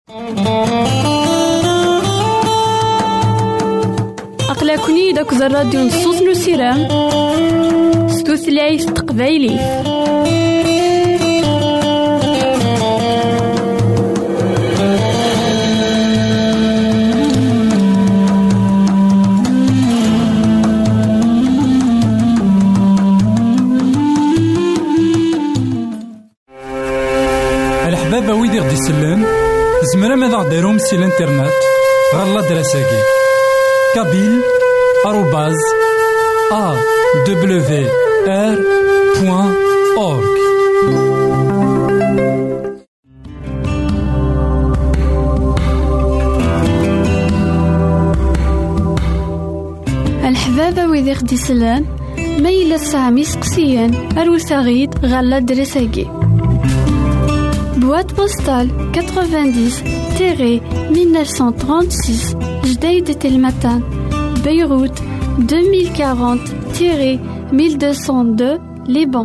أقلكني داك الراديو نصوص نسيران ستوثلايف تقبايلي. الحبابة ويدي غدي يسلم زمرا ماذا غديرهم سي الانترنت غالا دراساكي kabyle@awr.org. الحبابة ويدي غدي يسلم ما إلا سامي سقسيان أروساغيد غالا دراساكي boîte postale 90-1936 Jdeï Telmatan Beyrouth 2040-1202 Liban.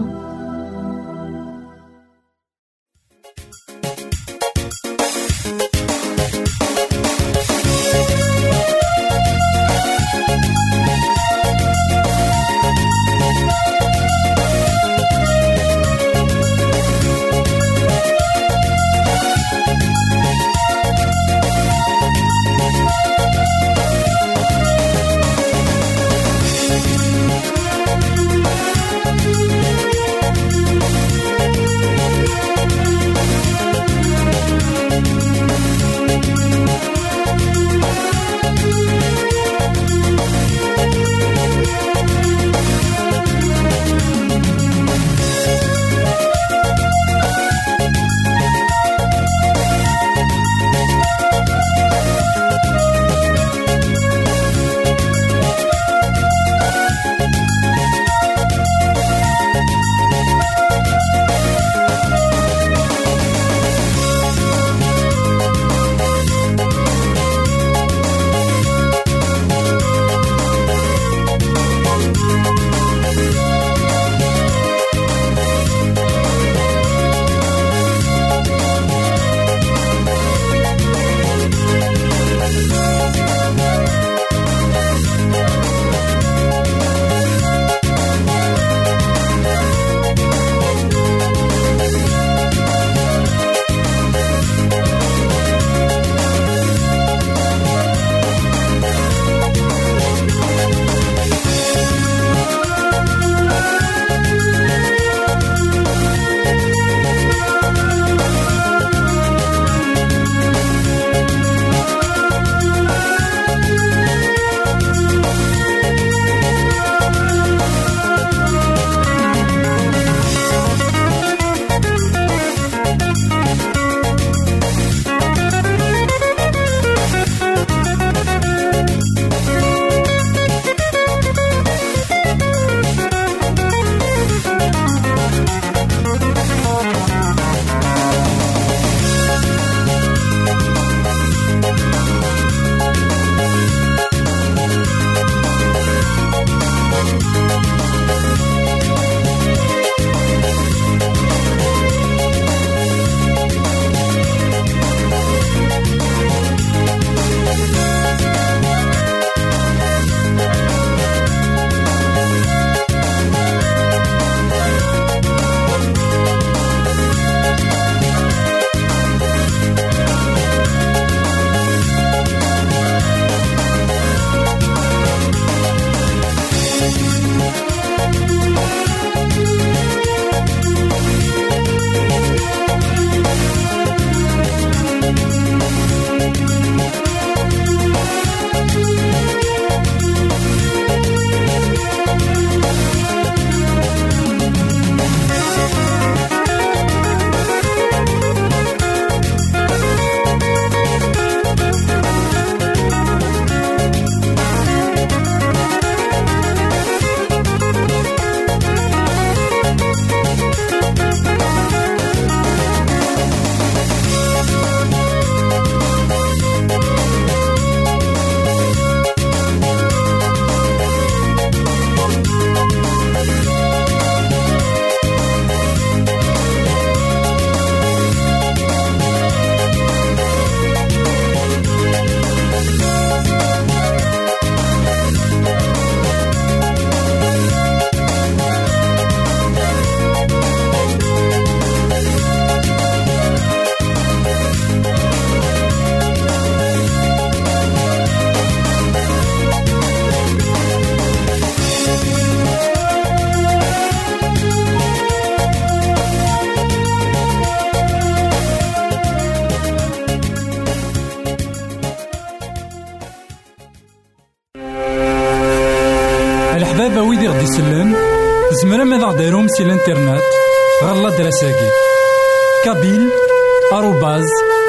الحبابة ويدي غدي يسلم زمرا ماذا غديرهم سي الانترنت غالا دراساكي كابيل @awr.org.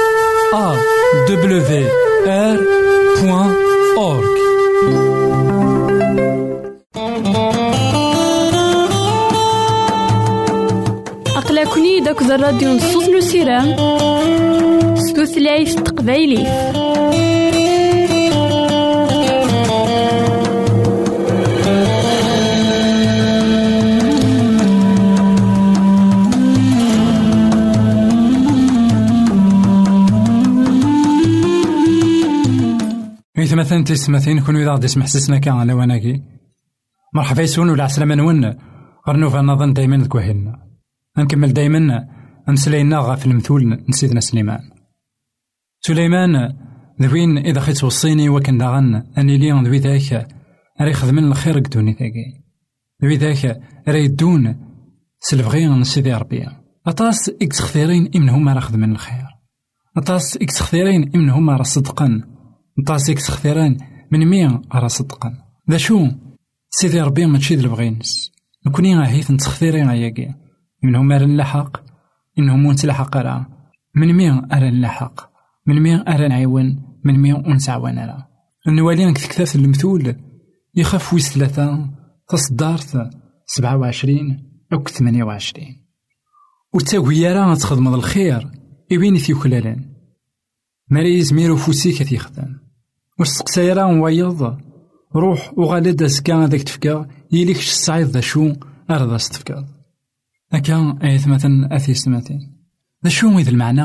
أقلكني داك الراديو نصوص نسيرام ستوثلايف تقبايلي. مثلا تسمثين كون إذا غادي يسمح سسنا كان على وناكي مرحبا يسون ولا عسلامة نون غرنوفا نظن دايما ذكوهلنا نكمل دايما نسلينا غا في المثول نسيدنا سليمان ذوين إذا خيت وصيني وكان داغن أني ليون ذوي ذاك راه يخدمن الخير قدوني ذاكي ذوي ذاك راه يدون سلفغين نسيدي ربي أطاس إكس خثيرين إمنهم راه خدمن الخير أطاس إكس خثيرين إمنهم راه صدقن نطاسيك سخثيران من مين أرى صدقا ذا شو سيدي ربي ما تشيد البغينس نكوني غاهيث نتخثيرين عياقي منهم أرى نلحق إنهم ونتلحق أرى من مين أرى نلحق من مين أرى نعيون من مين ونسعوان أرى النوالين كثكثاث المثول يخاف ويس 3 تصدارت 27 أو 28 وتاوي راه تخدم الخير يبيني في كلالان مريز ميرو فوسي كثي خدام وستقسايرا ويض روح وغالد أزكا هذاك تفكا يليكش الصعيد ذا شو أرضا ستفكا أكا أيث مثلا أثيس مثلا ذا شو إذا المعنى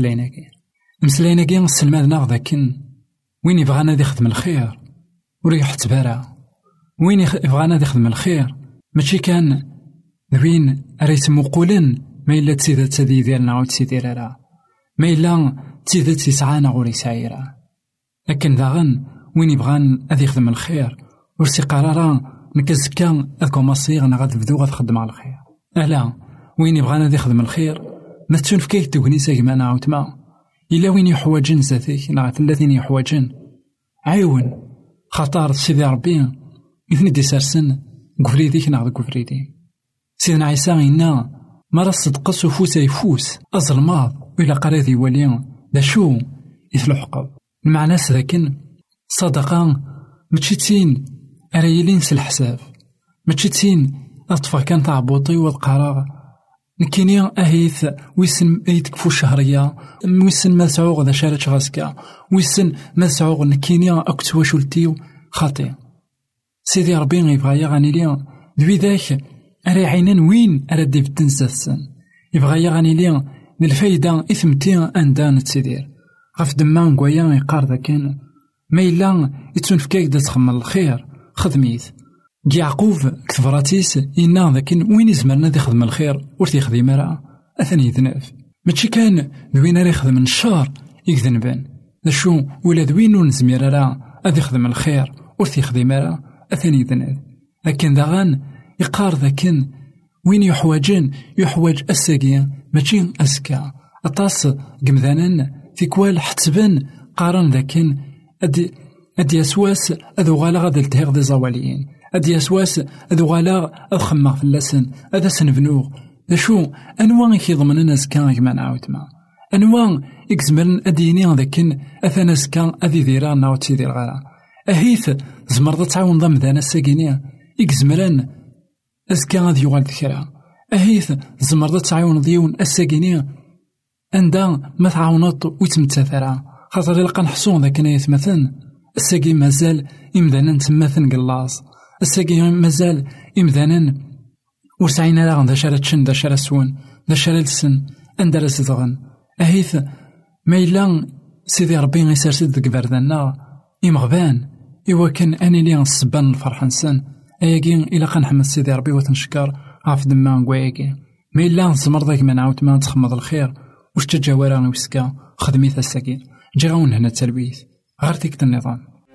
نمسليناكي السلمادنا ذاكن وين يبغانا ذي خدم الخير وريح تبارا وين يبغانا ذي خدم الخير ماشي كان ذوين أريتم قولن ما إلا تسيدة تذي ديالنا أو تسيدير راه ما إلا تيذات يسعانا غوري سعيرا لكن داغن وين يبغان أذي يخدم الخير ورسي قرارا نكزكا أذكو مصير أنا غاد بدو غاد خدم على الخير ألا وين يبغان أذي يخدم الخير ما تشوف كيف تغني ساكمانا عاوتما إلا وين يحوجن ذاتيك نا الذين يحوجن عيون خطار سيدي ربي إثني دي سارسن قفريديك نا غاد قفريدي سيدنا عيسى إنا مرا صدقس وفوس يفوس أظلماض وإلا قريضي وليان دا شو يثلحقب المعنى لكن صدقا متشتين أريلين سالحساب متشتين أطفال كان تعبوطي والقرار نكيني أهيث ويسن أيتكفو الشهرية ويسن ما سعوغ ذا شارة غاسكا ويسن ما سعوغ نكيني أكتوا شلتيو خاطي سيدي ربي يبغى يغاني ليا ذوي ذاك أري عينان وين أردي بتنسى يبغى يغاني ليا الفايدة إثمتين أندان تسيدير غف دمان قويا يقار ذاكن ما إلا يتنفكاك دا تخمل الخير خدميث يعقوب كثبراتيس إنا ذاكن وين يزمرنا ذي خدم الخير ورثي خديم راه أثني يذنب ماشي كان ذوين راه يخدم الشر يكذنبان ذا شو ولا ذوين نزمير راه أذي خدم الخير ورثي خديم راه أثني يذنب لكن داغان يقار ذاكن وين يحوج الساقيا ماشي أسكا أطاس قمذانا في كوال حتبان قارن ذاكن أدي يسواس أذو غالا غادا التهيغ دي زواليين أدي يسواس أذو غالا أخمغ في اللسن أذا سنفنوغ ذا شو أنواع يخيضمن الناس كان كمان عاوتما أنواع يكزمرن أديني ذاكن أثنا سكان أذي ذيران ناو تسيدي الغالا أهيث زمرضة تعاون ضم ذانا الساقينيا يكزمرن أزكا غادي يغال ذكرى أهيث زمرضة تعاون ديون الساقينيا أندا ما تعاونط ويتمتثرا خاطر لقا نحصون ذاك نايث مثلا الساقي مازال إمدانا تماثن قلاص الساقي مازال إمدانا ورسعينا لاغن ذا شارة تشن ذا شارة سون ذا شارة لسن أندرا سدغن أهيث ما إلا سيدي ربي غيسارسد ذك باردنا إمغبان إوا كان أني لي السبان الفرحة نسن أياكين إلا قنحمد سيدي ربي وتنشكر عاف دمان قواياكي ما إلا زمر ذاك ما نعاود ما نتخمض الخير واش تجاورا ويسكا خدميث الساكين جي غاون هنا التلبيث غير ديك النظام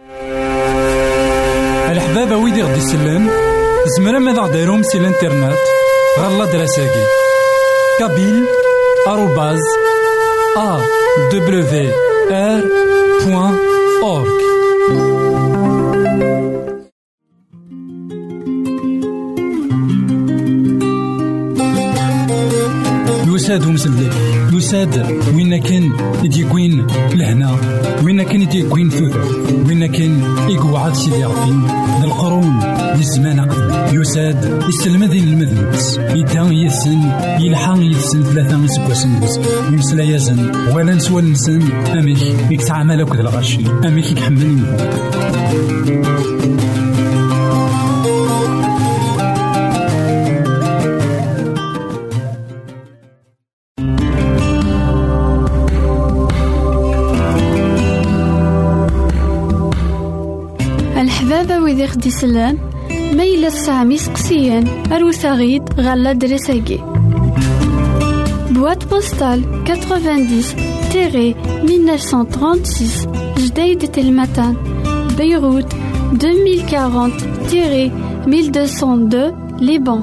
الحبابة ويدي غدي يسلم زمرا ماذا غديرهم سي الانترنت غالا دراساكي كابيل @awr.org يساد ومسلك يساد وين كان يديكوين لهنا وين كان يديكوين ثوث وين كان يقعد سيدي ربي القرون للزمان قبل يساد يسلمذين المذنبس يدان يسن يلحان يسن ثلاثة يسكوسن بس يمسلا يزن ولا نسوى نسن أميك يكتعمل أكد الغشي أميك يكحمل الحبابة وذي خدي سلان ميلا السامي سقسيان أروساغيد غالا دريساكي Boîte postale 90-1936 Jdeïd Telmatan Beyrouth 2040-1202 Liban.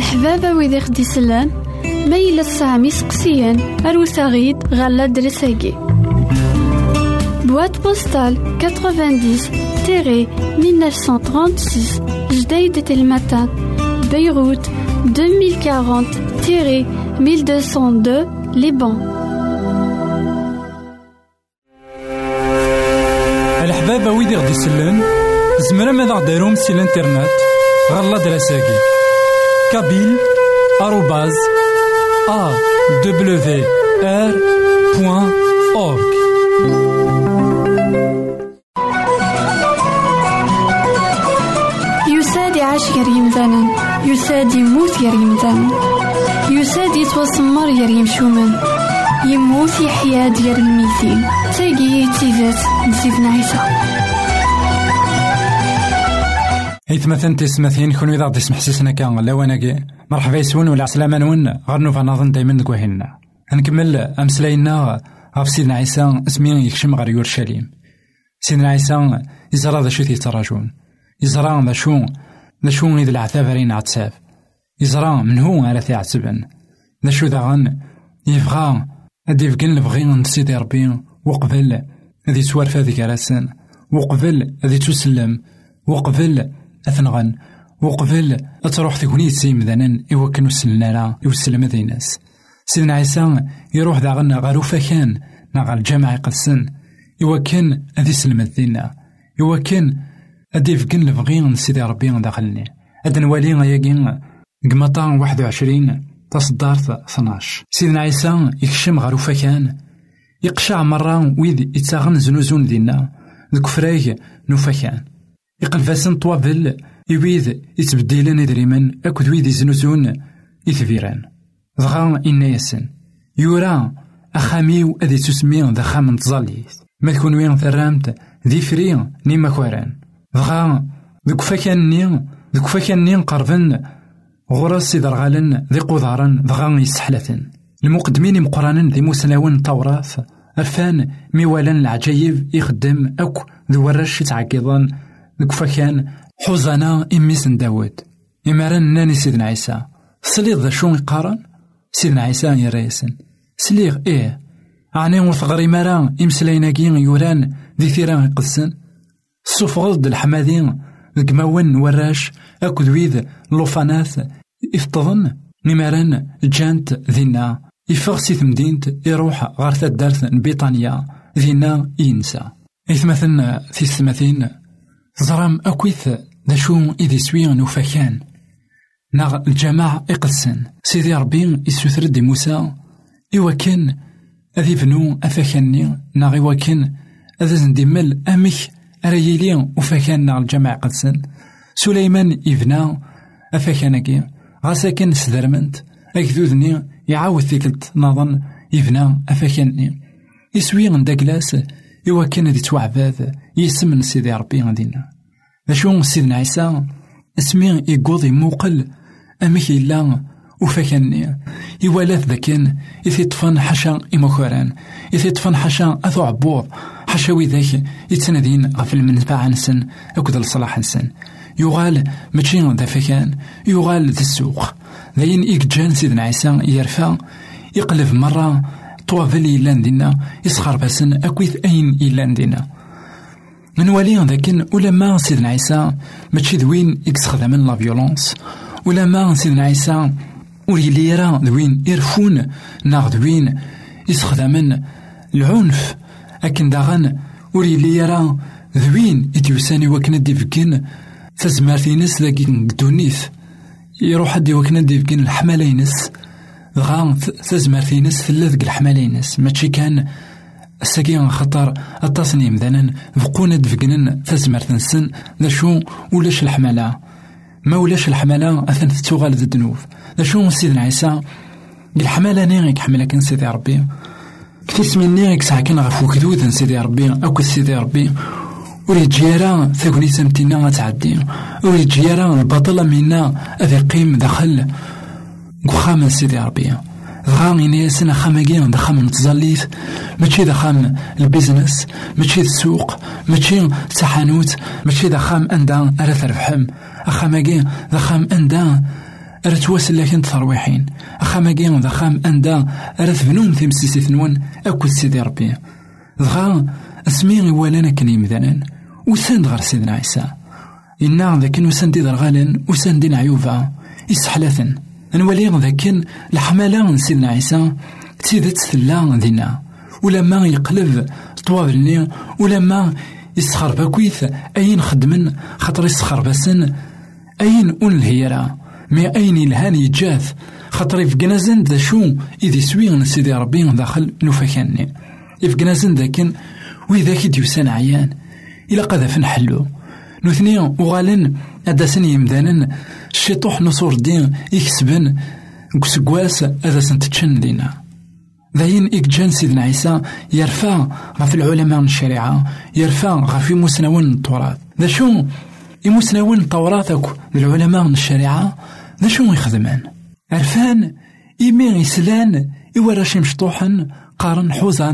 الحبابة ويدي خدي سلان ميلا السامي سقسيان أروساغيد غالا درساقي Boîte postale 90-1936 Jdeïd Telmatan Beyrouth 2040-1202 Liban. الحبابة ويدي غدي سلان زمرا ماذا غديرهم سي الانترنت غالا درساقي kabyle@awr.org. يساد يعيش غير يمثالا يساد يموت غير يمثالا يساد يتوسمر غير يمشومان يموت يحيا ديال الميتين تاقي تيزات نسيتنا عيسى حيث مثلا تسمثين كون إذا غدي يسمح سيسنا كان لواناكي مرحبا يسون ولا عسلامة نون غير نوفا نظن دايما نكوهلنا هنكمل أمسلاينا غف سيدنا عيسى اسمين يكشم غير يورشليم. سيدنا عيسى يزرى ذا شو تيتراجون يزرى ذا شو إذا العذاب رين عتساف يزرى من هو على ثيعتبن ذا شو ذا غن يبغى أدي يفقن لبغي نسيدي ربي وقبل ذي توارفا ذيك راسن وقبل ذي تسلم وقبل أثنغن وقبل أتروح ثقوني تسيم ذنن يوكنو سلنا لا يوسلم ذي ناس. سيدنا عيسى يروح ذا غن غاروفا كان نغا الجامع يقدسن يوكن أذي سلم الذينا يوكن أدي فقن لبغي نسيدي ربي داخلني أدن والي غياقين قمطان 21 تصدارت 12. سيدنا عيسى يكشم غاروفا كان يقشع مرة ويد يتاغن زنوزون دينا ذك فرايق نوفاكان يقلفاسن طوابل يويد يتبديلن إدريمن أكد ويد يزنوزون يثفيران ضغا إنا يسن يورا أخاميو أذي تسمين ذا خام تظليث ما تكون وين ثرامت ذي فرين نيما كواران ضغا ذك فاكان نين قربن غرس يدرغالن ذي قضارن ضغا يسحلثن المقدمين مقرانا ذي مسلاون توراث أرفان ميوالان العجايب يخدم أكو ذو ورش يتعقيضان ذك فاكان حوزانا إميسن داود إماران ناني سيدنا عيسى سليغ ذا شون يقارن سيدنا عيسى يريسن سليغ إيه عني وثغري مران إمسلايناكين يوران ذي ثيران يقدسن الصوف غلد الحمادين ذك موان وراش أكو ذويذ لوفاناث يفتضن نماران جانت ذينا يفغ سيث مدينت يروح غارثة دارث بيطانيا ذينا ينسى إثمثن في الثمثين زرام أكويث ذا شو إذي سويا نوفاكان ناغ الجماعة إقلسن سيدي ربي يسوثرد موسى إوكن أذي بنو أفاكاني ناغ إوكن أذا زندمل أمك أريليا وفاكان ناغ الجماعة إقلسن سليمان إبنا أفاكانكي غاساكن سدرمنت أكذوذني يعاود ثيكلت نظن يبنى أفاكاني يسوي غنداكلاس إوكن ذي توعباذ يسمن سيدي ربي غدينا ذا سيدنا عيسى اسمي يقوضي موقل أمك إلا وفاكني يوالات ذاكن إذي طفن حشا إمكوران إذي طفن حشا أثو عبور حشاوي ذاك يتسندين غف المنفعة نسن أكد الصلاح نسن يغال ماشي ذا فكان يغال ذا السوق ذاين إكجان سيدنا عيسى يرفع يقلب مرة طوافل إيلان دينا يسخر باسن أكويث أين إيلان دينا من والي ذاكن ولما سيدنا عيسى ماشي ذوين يكسخدم من لا فيولونس ولما سيدنا عيسى ولي يرى ذوين يرفون ناغ ذوين يسخدم من العنف أكن داغن ولي يرى ذوين يتيوساني وكنا ديفكين فزمارتينس ذاكي دونيث يروح حد وكنا ديفكين الحمالينس غا فزمارتينس ثلاث الحمالينس ماشي كان الساكين خطر التصنيم ذنن فقونا دفقنن فزمارتنسن ذا شو ولاش الحمالة ما ولاش الحمالة أثن تتوغال ذا الدنوف ذا شو سيدنا عيسى الحمالة نيغيك حملة كان سيدي ربي كتيس من نيغيك ساكن غفو كدوذن سيدي ربي أكو سيدي ربي وريد جيران ثاكوني سمتنا غتعدي وريد جيران البطلة منا أذي قيم دخل وخام سيدي ربي غامي نيسنا خامجين دخام نتزليث ماشي دخام البيزنس ماشي السوق ماشي تحانوت ماشي دخام أندا أرث ربحم أخامجين دخام أندا تواسل لكن ترويحين أخام أجين ذا خام أندا أرثبنوم تمسيسي نون أكل سيدي ربي ذغا اسمي ولانا كني مثلا وساند غير سيدنا عيسى إنا ذاك وساندي درغالن وساندين عيوبا يسحلثن نولي ذاك الحمالة من سيدنا عيسى تيدت ثلا دينا ولما يقلب طوابلني ولما يسخر باكويث أين خدمن خاطر يسخر باسن أين أون الهيرة مي أين الهان يجاث خاطر يفقنازن ذا شو إذي سوي سيدي ربي داخل نوفاكاني يفقنازن ذاكن وإذا كي ديوسان عيان إلا قذف نحلو نوثني وغالن أداسن يمدانن الشيطوح نصور الدين يكسبن كسكواس أداسن تتشن دينا ذاين إكجان سيدنا عيسى يرفع غف العلماء من الشريعة يرفع غف مسنون التراث ذا شو يمسنون التوراثك العلماء من الشريعة ذا شو يخدمان عرفان إيمين يسلان يوراش مشطوحا قارن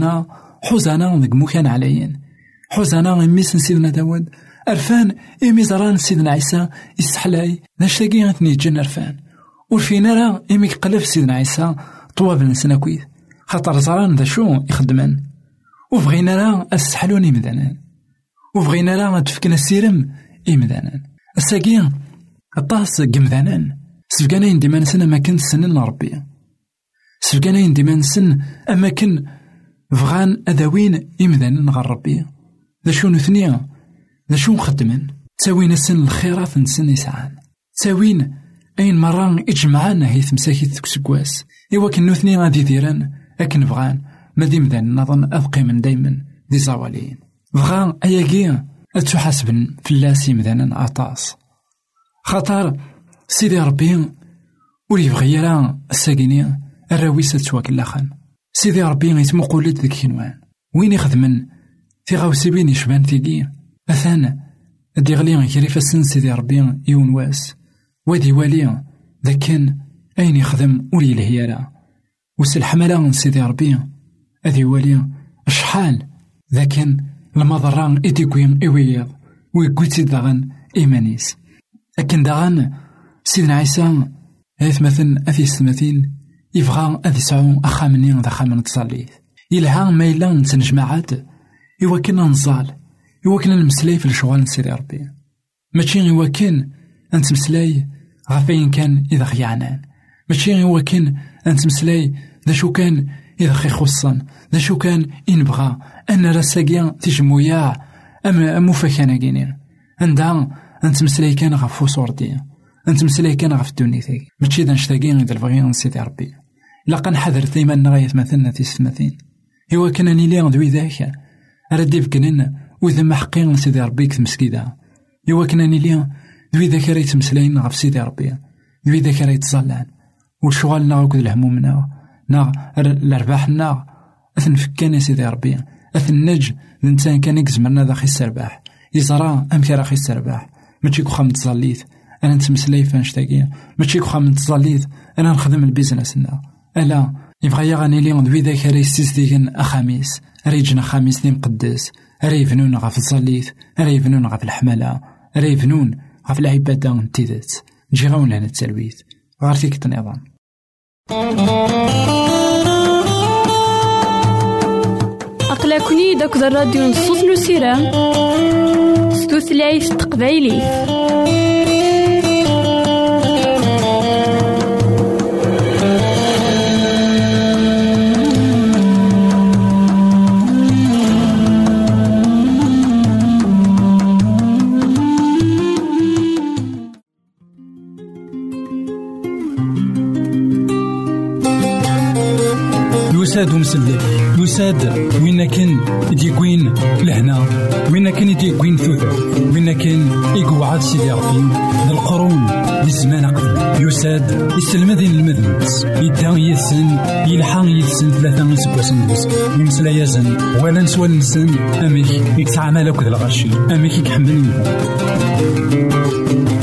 حوزانا ذك مكان عليين حوزانا ميسن سيدنا داود عرفان إيمي زران سيدنا عيسى يسحلاي ناشتاقي غتني جن عرفان ورفينا راه إيمي قلب سيدنا عيسى طواب نسنا كويث خاطر زران ذا شو يخدمان وبغينا راه السحلوني مدانان وبغينا راه تفكنا السيرم إمدانان الساقين الطاس قمذانان سفقانا يندي نسن أماكن سنن ربي سفقانا يندي نسن أماكن فغان أدوين إمدانان غير ربي ذا شو نثنيا ذا شو نخدمن تساوين السن الخيرات نسن يسعان تساوين أين مرة إجمعانا هيث مساكي تكسكواس إوا كن نثنيا غادي ديران أكن فغان ما دي مدان نظن أبقي من دايما دي زوالين فغان أياقيا أتحاسبن في اللاسي مذانا أطاس خاطر سيدي ربي ولي بغيرا الساقيني الراويسة تواكلاخن سيدي ربي يتمقولد ذيك كنوان وين يخدمن في غاوسيبين يشبان ثيقي أثان دي غليان كريفة سن سيدي ربي يون واس وادي والي ذاكن أين يخدم ولي الهيالا وسلحمالا من سيدي ربي أذي والي أشحال ذاكن المضران إديكوين إويض ويقوتي داغن إيمانيس لكن داغن سيدنا عيسى هيث مثل أثي السماثين يبغى أذي سعون أخامنين ذا خامن تصاليث يلها ما إلا نتنجمعات يوكلنا نزال يوكلنا نمسلاي في الشغال سيدي ربي ماشي يوكل أنت مسلاي غفين كان إذا خيعنان ماشي يوكل أنت مسلاي ذا شو كان إذا خي خصا ذا شو كان إنبغى أن رساقيا تجمويا أما مفاكانا كينين عندها أنت مسلاي كان غفو صورتي أنت مسلاي كان غف الدنيا ثاقي ماشي ذا نشتاقين إذا البغيان سيدي ربي لقا نحذر ديما نغاية مثلنا في السماثين هو كان نيلي دوي ذاك أردي بكنين وإذا ما حقين سيدي ربي كتمسكيدا هو كان نيلي دوي ذاك ريت مسلاين غف سيدي ربي دوي ذاك ريت صلان والشغال ناغ الهموم ناغ الأرباح ناغ أثن فكان سيدي ربي أثن نج الإنسان كان يكزمرنا ذا خي السرباح يزرع أمكي راخي السرباح ماشي كوخا متزاليت أنا نتمسلاي فانشتاقيا ماشي كوخا متزاليت أنا نخدم البيزنسنا ألا يبغى يغني لي ندوي ذاك راه يستيقن أخاميس راه يجينا خاميس ديال مقدس راه يبنون غا في الزاليت راه يبنون غا في الحمالة راه يبنون غا في العبادة نتيدات نجي غاون لهنا التلويث غير فيك النظام أقلكني داك الراديو نصوص نسيران ستوثلايف تقبايلي يساد ومسلك يساد وين كان يديكوين لهنا وين كان يديكوين ثوث وين كان يقعد سيدي ربي القرون للزمان قبل يساد يسلمذين المذنبس يدان يثسن يلحان يثسن ثلاثة يسبوسن بس يمسلا يزن ولا نسوى النسن أميك يكتعمل أكد الغشي أميك يكحمل